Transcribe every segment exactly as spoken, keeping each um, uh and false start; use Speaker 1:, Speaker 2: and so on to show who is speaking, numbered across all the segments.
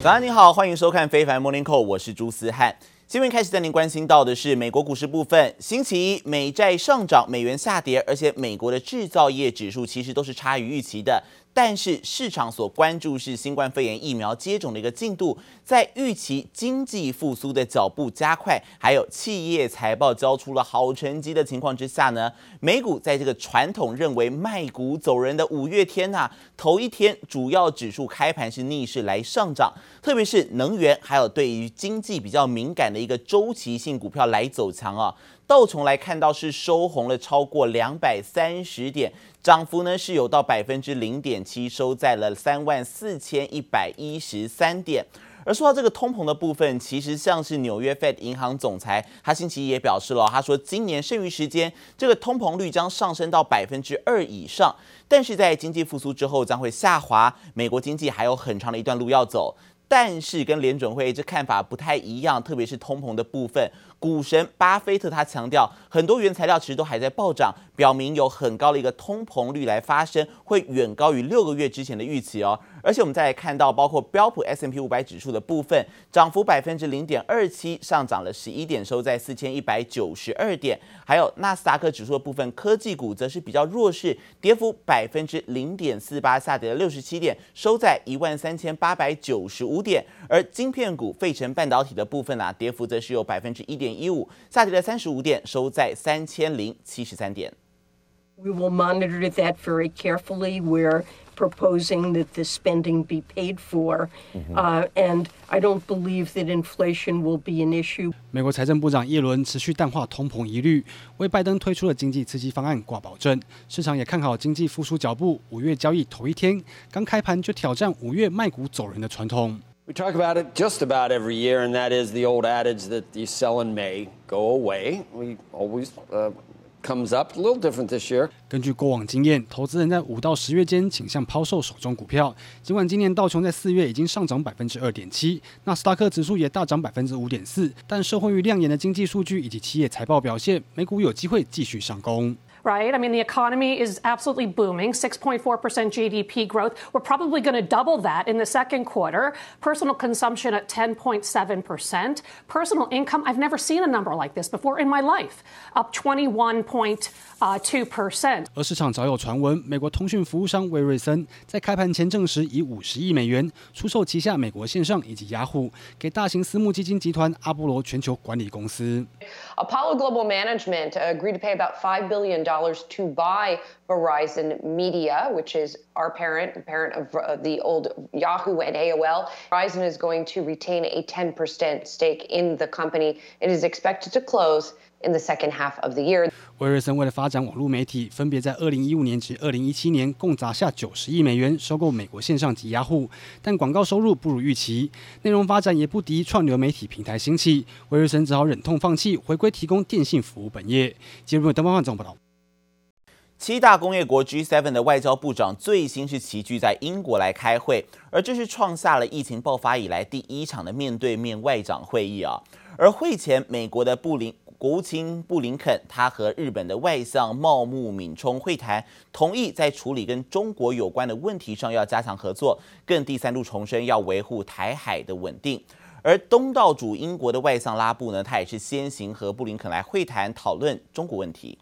Speaker 1: 早安，你好，歡迎收看《非凡 Morning Call》，我是朱思翰。新聞開始帶您關心到的是美國股市部分。星期一，美債上漲，美元下跌，而且美國的製造業指數其實都是差於預期的。但是市場所關注是新冠肺炎疫苗接種的一個進度，在預期經濟復甦的腳步加快，還有企業財報交出了好成績的情況之下呢，美股在這個傳統認為賣股走人的五月天吶、啊，頭一天主要指數開盤是逆勢來上漲，特別是能源還有對於經濟比較敏感的一個週期性股票來走強啊。道瓊來看到是收紅了超過兩百三十點，漲幅呢是有到百分之零點七，收在了三萬四千一百一十三點。而說到這個通膨的部分，其實像是紐約 Fed 銀行總裁，他星期一也表示了，他說今年剩餘時間這個通膨率將上升到百分之二以上，但是在經濟復甦之後將會下滑，美國經濟還有很長的一段路要走。但是跟聯準會這看法不太一樣，特別是通膨的部分，股神巴菲特他強調，很多原材料其實都還在暴漲，表明有很高的一個通膨率來發生，會遠高於六個月之前的預期哦。而且我們再來看到，包括標普 S and P 五百指數的部分，漲幅百分之零點二七，上漲了十一點，收在四千一百九十二點。還有納斯達克指數的部分，科技股則是比較弱勢，跌幅百分之零點四八，下跌了六十七點，收在一萬三千八百九十五點。而晶片股費城半導體的部分啊，跌幅則是有百分之一點一五，下跌了三十五點，收在三千零七十三點。
Speaker 2: We will monitor that very carefully. We're proposing that the spending be paid for, uh, and I don't believe that inflation will be an issue.
Speaker 3: 美國財政部長耶倫持續淡化通膨疑慮，為拜登推出的經濟刺激方案掛保證。市場也看好經濟復甦腳步。五月交易頭一天，剛開盤就挑戰五月賣股走人的傳統。
Speaker 4: We talk about it just about every year, and that is the old adage that you sell in May, go away. We always uh, comes up a little different this year.
Speaker 3: 根據過往經驗，投資人在五到十月間傾向拋售手中股票。儘管今年道瓊在四月已經上漲百分之二點七，納斯達克指數也大漲百分之五點四，但受惠於亮眼的經濟數據以及企業財報表現，美股有機會繼續上攻。
Speaker 5: Right? I mean, the economy is absolutely booming, six point four percent G D P growth. We're probably going to double that in the second quarter. Personal consumption at ten point seven percent. Personal income, I've never seen a number like this before in my life, up twenty-one point two percent.
Speaker 3: 而市場早有傳聞，美國通訊服務商威瑞森在開盤前證實以五十億美元出售旗下美國線上以及雅虎，給大型私募基金集團阿波羅全球管理公司。
Speaker 6: Apollo Global Management agreed to pay about five billion dollars to buy Verizon Media, which is our parent, the parent of uh, the old Yahoo and A O L. Verizon is going to retain a ten percent stake in the company. It is expected to close in the second half of the year.
Speaker 3: 威瑞森為了發展網絡媒體，分別在二零一五年及二零一七年共砸下九十億美元收購美國線上及雅虎，但廣告收入不如預期，內容發展也不敵串流媒體平台興起，威瑞森只好忍痛放棄，回歸提供電信服務本業。接入登方總報道。
Speaker 1: 七大工業國 G 七 的外交部長最新是齊聚在英國來開會，而這是創下了疫情爆發以來第一場的面對面外長會議啊。而會前，美國的布林國務卿布林肯，他和日本的外相茂木敏充會談，同意在處理跟中國有關的問題上要加強合作，更第三度重申要維護台海的穩定。而東道主英國的外相拉布呢，他也是先行和布林肯來會談，討論中國問題。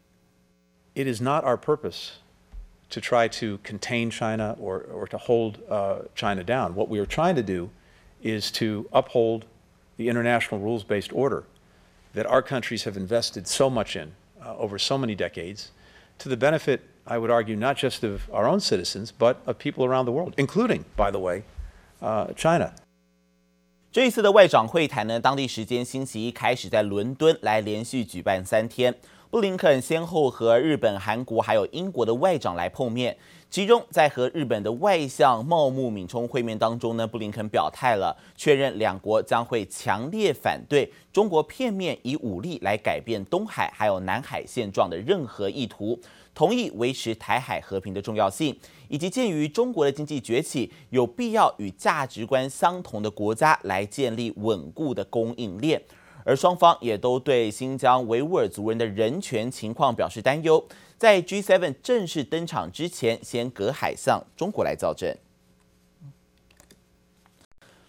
Speaker 7: It is not our purpose to try to contain China or, or to hold uh, China down. What we are trying to do is to uphold the international rules-based order that our countries have invested so much in uh, over so many decades to the benefit, I would argue, not just of our own citizens, but of people around the world, including, by the way, uh, China.
Speaker 1: 這一次的外長會談呢，當地時間星期一開始在倫敦來連續舉辦三天。布林肯先後和日本、韓國還有英國的外長來碰面，其中在和日本的外相茂木敏充會面當中呢，布林肯表態了，確認兩國將會強烈反對中國片面以武力來改變東海還有南海現狀的任何意圖，同意維持台海和平的重要性，以及鑑於中國的經濟崛起，有必要與價值觀相同的國家來建立穩固的供應鏈。而雙方也都對新疆維吾爾族人的人權情況表示擔憂，在 G 七 正式登場之前，先隔海向中國來造陣。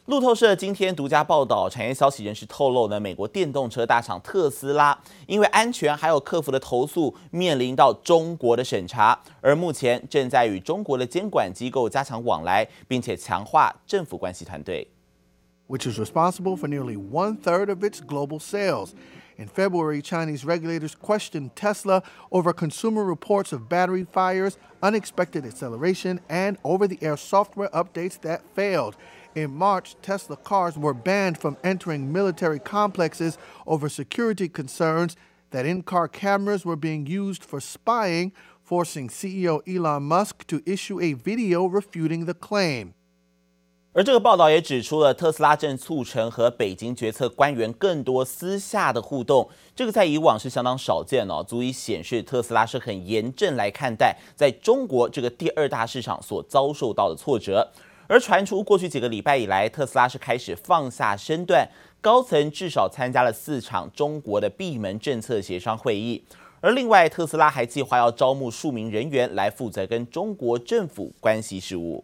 Speaker 1: 路透社今天獨家報道，產業消息人士透露呢，美國電動車大廠特斯拉因為安全還有客服的投訴，面臨到中國的審查，而目前正在與中國的監管機構加強往來，並且強化政府關係團隊。
Speaker 8: which is responsible for nearly one-third of its global sales. In February, Chinese regulators questioned Tesla over consumer reports of battery fires, unexpected acceleration, and over-the-air software updates that failed. In March, Tesla cars were banned from entering military complexes over security concerns that in-car cameras were being used for spying, forcing C E O Elon Musk to issue a video refuting the claim.
Speaker 1: 而這個報道也指出了，特斯拉正促成和北京決策官員更多私下的互動，這個在以往是相當少見哦，足以顯示特斯拉是很嚴正來看待在中國這個第二大市場所遭受到的挫折。而傳出過去幾個禮拜以來，特斯拉是開始放下身段，高層至少參加了四場中國的閉門政策協商會議。而另外，特斯拉還計劃要招募數名人員來負責跟中國政府關係事務。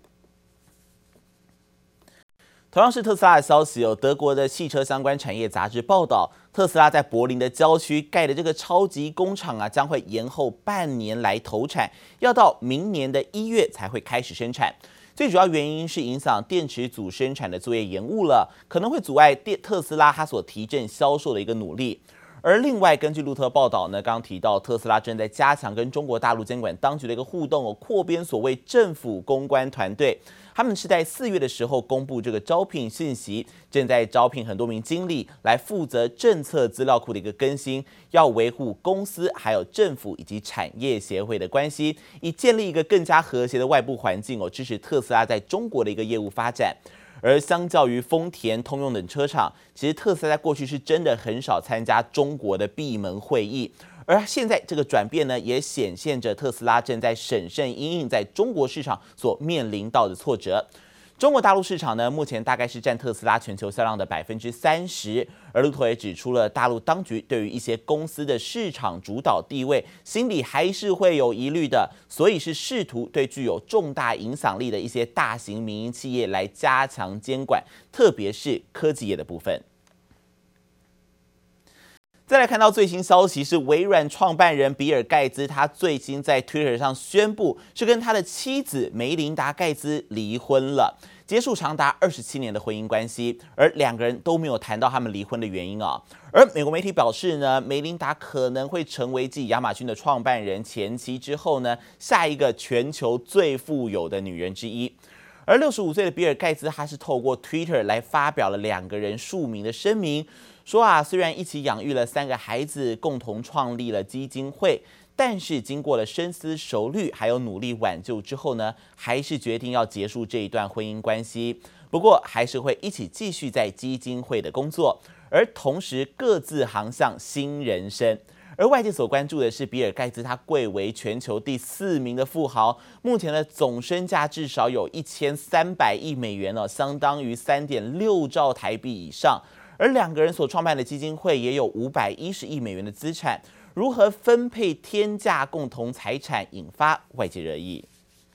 Speaker 1: 同樣是特斯拉的消息，有德國的汽車相關產業雜誌報道，特斯拉在柏林的郊區蓋的這個超級工廠啊，將會延後半年來投產，要到明年的一月才會開始生產。最主要原因是影響電池組生產的作業延誤了，可能會阻礙電特斯拉它所提振銷售的一個努力。而另外，根據路透報道呢，剛剛提到特斯拉正在加強跟中國大陸監管當局的一個互動哦，擴編所謂政府公關團隊。他們是在四月的時候公布這個招聘信息，正在招聘很多名經理來負責政策資料庫的一個更新，要維護公司還有政府以及產業協會的關係，以建立一個更加和諧的外部環境哦，支持特斯拉在中國的一個業務發展。而相較於豐田、通用等車廠，其實特斯拉在過去是真的很少參加中國的閉門會議。而現在這個轉變呢，也顯現着特斯拉正在審慎因應在中國市場所面臨到的挫折。中國大陸市場呢，目前大概是佔特斯拉全球銷量的百分之三十。而路透也指出了，大陸當局對於一些公司的市場主導地位，心裡還是會有疑慮的，所以是試圖對具有重大影響力的一些大型民營企業來加強監管，特別是科技業的部分。再來看到最新消息是，微軟創辦人比爾蓋茨，他最新在 Twitter 上宣布，是跟他的妻子梅琳達蓋茨離婚了，結束長達二十七年的婚姻關係，而兩個人都沒有談到他們離婚的原因啊。而美國媒體表示呢，梅琳達可能會成為繼亞馬遜的創辦人前妻之後呢，下一個全球最富有的女人之一。而六十五歲的比爾蓋茨，他是透過 Twitter 來發表了兩個人署名的聲明。說啊，雖然一起養育了三個孩子，共同創立了基金會，但是經過了深思熟慮，還有努力挽救之後呢，還是決定要結束這一段婚姻關係。不過，還是會一起繼續在基金會的工作，而同時各自航向新人生。而外界所關注的是，比爾蓋茨他貴為全球第四名的富豪，目前的總身價至少有一千三百億美元哦，相當於三點六兆台幣以上。而兩個人所創辦的基金會也有五百一十億美元的資產，如何分配天價共同財產，引發外界熱議。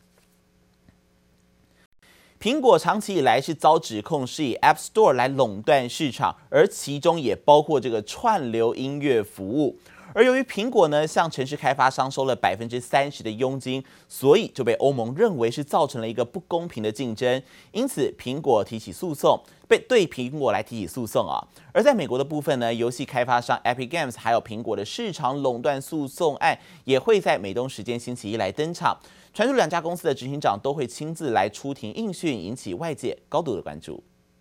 Speaker 1: 蘋果長期以來是遭指控是以 App Store 來壟斷市場，而其中也包括這個串流音樂服務。而由於蘋果呢向城市開發商收了百分之三十的佣金，所以就被歐盟認為是造成了一個不公平的競爭，因此蘋果提起訴訟，被對蘋果來提起訴訟啊。而在美國的部分呢，遊戲開發商 Epic Games 還有蘋果的市場壟斷訴訟案也會在美東時間星期一來登場。傳出兩家公司的執行長都會親自來出庭應訊，引起外界高度的關注。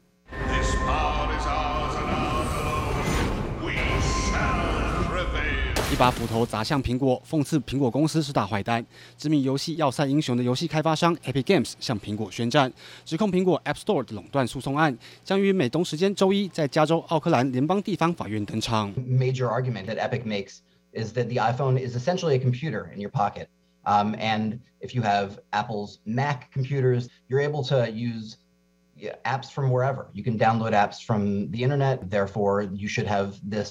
Speaker 3: 一把斧頭砸向蘋果，諷刺蘋果公司是大壞蛋。知名遊戲《要塞英雄》的遊戲開發商 Epic Games 向蘋果宣戰，指控蘋果 App Store 的壟斷訴訟案將於美東時間周一在加州奧克蘭聯邦地方法院登場。
Speaker 9: Major argument that Epic makes is that the iPhone is essentially a computer in your pocket, um, and if you have Apple's Mac computers, you're able to use apps from wherever. You can download apps from the internet. Therefore, you should have this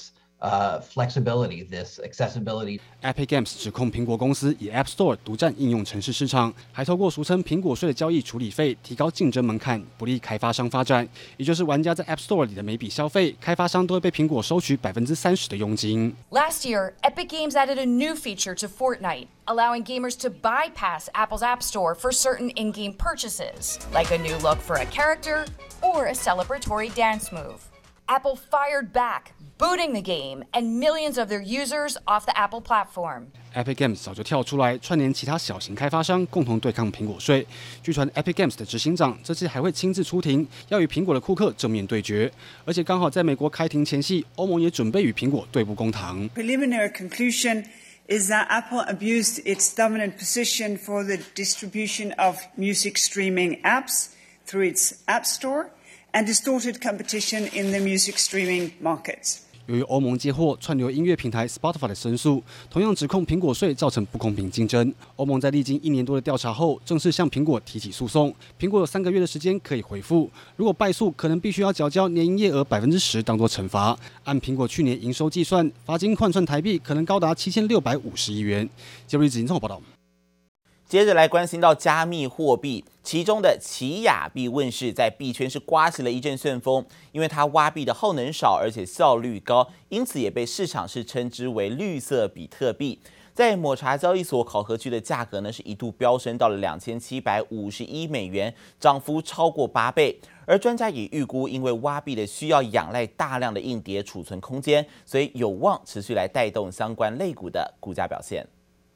Speaker 9: uh, flexibility, this accessibility.
Speaker 3: Epic Games 指控蘋果公司以 App Store 獨佔應用程式市場，還透過俗稱蘋果稅的交易處理費，提高競爭門檻，不利開發商發展。也就是玩家在 App Store 裡的每筆消費，開發商都會被蘋果收取百分之三十的佣金。
Speaker 10: Last year, Epic Games added a new feature to Fortnite, allowing gamers to bypass Apple's App Store for certain in-game purchases, like a new look for a character or a celebratory dance move. Apple fired back, booting the game and millions of their users off the Apple platform.
Speaker 3: Epic Games 早就跳出來串聯其他小型開發商，共同對抗蘋果稅。據傳 Epic Games 的執行長這次還會親自出庭，要與蘋果的庫克正面對決。而且剛好在美國開庭前夕，歐盟也準備與蘋果對簿公堂。
Speaker 11: Preliminary conclusion is that Apple abused its dominant position for the distribution of music streaming apps through its App Store and distorted competition in the music streaming markets.
Speaker 3: 由於歐盟接獲串流音樂平台 Spotify 的申訴，同樣指控蘋果稅造成不公平競爭。歐盟在歷經一年多的調查後，正式向蘋果提起訴訟。蘋果有三個月的時間可以回復，如果敗訴，可能必須要繳交年營業額百分之十當作懲罰。按蘋果去年營收計算，罰金換算台幣可能高達七千六百五十億元。傑瑞子金綜合報道。
Speaker 1: 接着來關心到加密貨幣，其中的奇亞幣問世，在幣圈是颳起了一陣旋風，因為它挖幣的耗能少，而且效率高，因此也被市場是稱之為綠色比特幣。在抹茶交易所考核區的價格呢，是一度飆升到了兩千七百五十一美元，漲幅超過八倍。而專家也預估，因為挖幣的需要仰賴大量的硬碟儲存空間，所以有望持續來帶動相關類股的股價表現。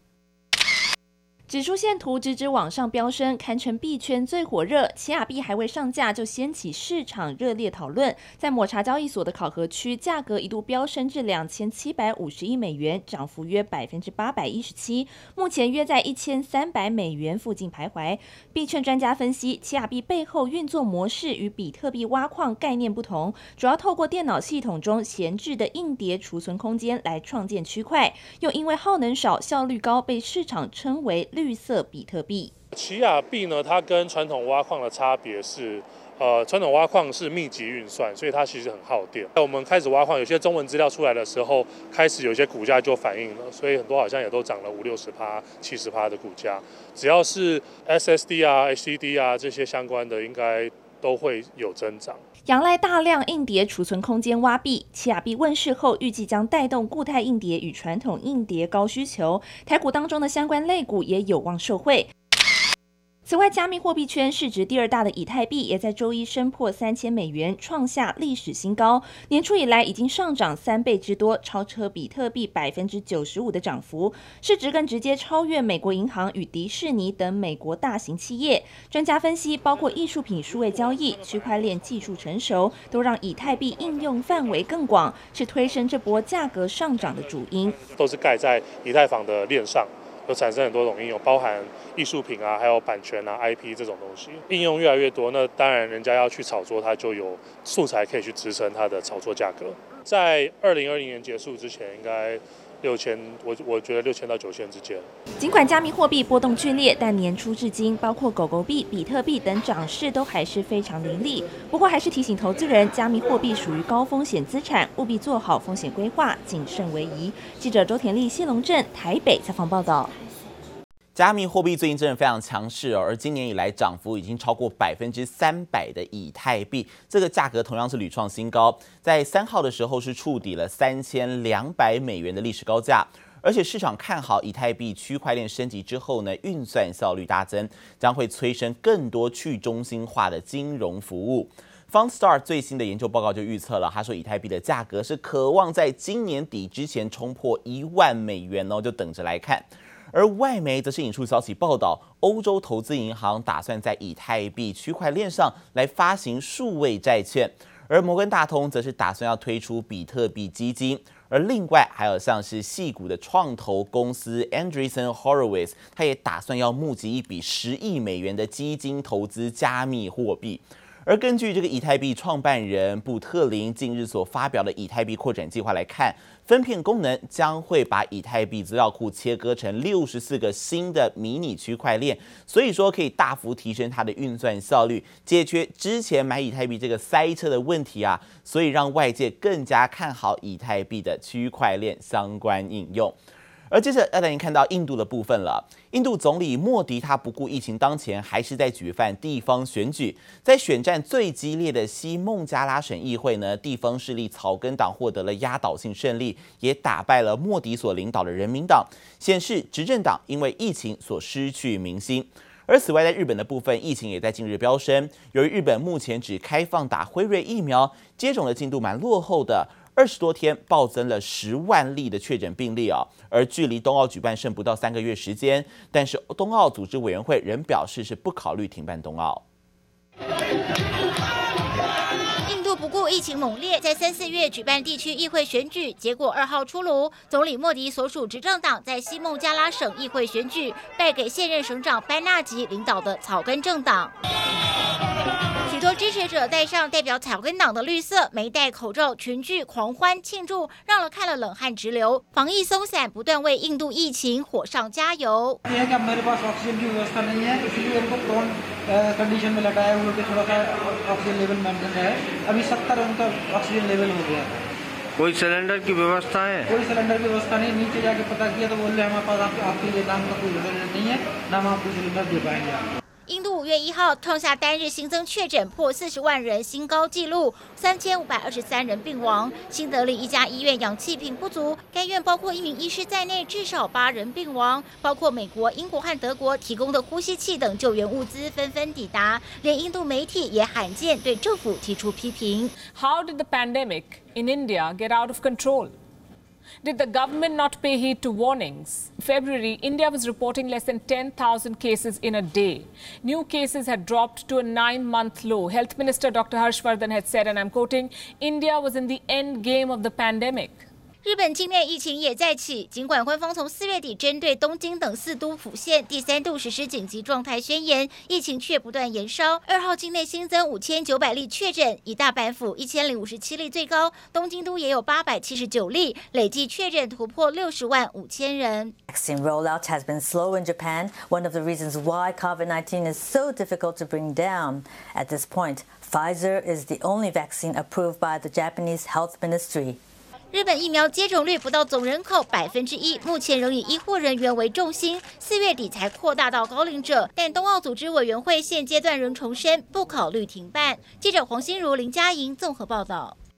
Speaker 12: 指數線圖直直往上飆升，堪稱幣圈最火熱。奇亞幣還未上架就掀起市場熱烈討論。在抹茶交易所的考核區，價格一度飆升至兩千七百五十一美元，漲幅約百分之八百一十七。目前約在一千三百美元附近徘徊。幣圈專家分析，奇亞幣背後運作模式與比特幣挖礦概念不同，主要透過電腦系統中閒置的硬碟儲存空間來創建區塊，又因為耗能少、效率高，被市場稱為綠色比特幣。
Speaker 13: 奇亞幣呢，它跟傳統挖礦的差別是，呃，傳統挖礦是密集運算，所以它其實很耗電。在我們開始挖礦，有些中文資料出來的時候，開始有些股價就反映了，所以很多好像也都漲了五六十趴、七十趴的股價。只要是 S S D 啊、H D D 啊這些相關的，應該都會有增長。
Speaker 12: 仰賴大量硬碟儲存空間挖幣，奇亞幣問世後，預計將帶動固態硬碟與傳統硬碟高需求，台股當中的相關類股也有望受惠。此外，加密貨幣圈市值第二大的以太幣也在周一升破三千美元，創下歷史新高。年初以來已經上漲三倍之多，超車比特幣百分之九十五的漲幅，市值更直接超越美國銀行與迪士尼等美國大型企業。專家分析，包括藝術品數位交易、區塊鏈技術成熟，都讓以太幣應用範圍更廣，是推升這波價格上漲的主因。
Speaker 13: 都是蓋在以太坊的鏈上。有產生很多種應用，包含藝術品啊，還有版權啊、I P 這種東西，應用越來越多。那當然，人家要去炒作，它就有素材可以去支撐它的炒作價格。在二零二零年結束之前，應該六千，我我覺得六千到九千之間。
Speaker 12: 儘管加密貨幣波動劇烈，但年初至今，包括狗狗幣、比特幣等漲勢都還是非常凌厲。不過，還是提醒投資人，加密貨幣屬於高風險資產，務必做好風險規劃，謹慎為宜。記者周田麗、謝龍鎮台北採訪報道。
Speaker 1: 加密貨幣最近真的非常強勢哦，而今年以來漲幅已經超過百分之三百的以太幣，這個價格同樣是屢創新高，在三號的時候是觸底了三千兩百美元的歷史高價，而且市場看好以太幣區塊鏈升級之後呢，運算效率大增，將會催生更多去中心化的金融服務。Fundstart 最新的研究報告就預測了，他說以太幣的價格是可望在今年底之前衝破一萬美元哦，就等着來看。而外媒則是引述消息報道，歐洲投資銀行打算在以太幣區塊鏈上來發行數位債券，而摩根大通則是打算要推出比特幣基金，而另外還有像是矽谷的創投公司 Andreessen Horowitz， 他也打算要募集一筆十億美元的基金投資加密貨幣。 而根據這個以太幣創辦人布特林近日所發表的以太幣擴展計劃來看，分片功能將會把以太幣資料庫切割成六十四個新的迷你區塊鏈，所以說可以大幅提升它的運算效率，解決之前買以太幣這個塞車的問題啊，所以讓外界更加看好以太幣的區塊鏈相關應用。而接着要帶您看到印度的部分了。印度總理莫迪他不顧疫情當前，還是在舉辦地方選舉。在選戰最激烈的西孟加拉省議會呢，地方勢力草根黨獲得了壓倒性勝利，也打敗了莫迪所領導的人民黨，顯示執政黨因為疫情所失去民心。而此外，在日本的部分，疫情也在近日飆升。由於日本目前只開放打輝瑞疫苗，接種的進度蠻落後的。二十多天暴增了十萬例的確診病例啊，而距離冬奧舉辦剩不到三個月時間，但是冬奧組織委員會仍表示是不考慮停辦冬奧。
Speaker 14: 印度不顧疫情猛烈，在三四月舉辦地區議會選舉，結果二號出爐，總理莫迪所屬執政黨在西孟加拉省議會選舉敗給現任省長班納吉領導的草根政黨。許多支持者戴上代表草根黨的綠色，沒戴口罩，群聚狂歡慶祝，讓人看了冷汗直流。防疫鬆散，不斷為印度疫情火上加油。
Speaker 15: कोई सिलेंडर की व्यवस्था है
Speaker 16: कोई सिलेंडर की व्यवस्था नहीं नीचे जाके पता किया तो बोल रहे हमारे पास आप, आपके लिए नाम का कोई सिलेंडर नहीं है ना हम आपको सिलेंडर दे पाएंगे आपको।
Speaker 14: 印度五月一號創下單日新增確診破四十萬人新高紀錄，三千五百二十三人病亡。新德里一家醫院氧氣瓶不足，該院包括一名醫師在內，至少八人病亡。包括美國、英國和德國提供的呼吸器等救援物資紛紛抵達，連印度媒體也罕見對政府提出批評。
Speaker 17: How did the pandemic in India get out of control? Did the government not pay heed to warnings? In February, India was reporting less than ten thousand cases in a day. New cases had dropped to a nine-month low. Health Minister Doctor Harshvardhan had said, and I'm quoting, India was in the end game of the pandemic.
Speaker 14: 日本境內疫情也再起，儘管官方從四月底針對東京等四都府縣第三度實施緊急狀態宣言，疫情卻不斷延燒。二號境內新增五千九百例確診，以大阪府一千零五十七例最高，東京都也有八百七十九例，累計確診突破六十萬五千人。
Speaker 18: Vaccine rollout has been slow in Japan, one of the reasons why COVID nineteen is so difficult to bring down. At this point, Pfizer is the only vaccine approved by the Japanese Health Ministry.
Speaker 14: 日本疫苗接種率不到總人口百分之一，目前仍以醫護人員為重心，四月底才擴大到高齡者。但冬奧組織委員會現階段仍重申不考慮停辦。記者黃心如、林佳瑩綜合報道。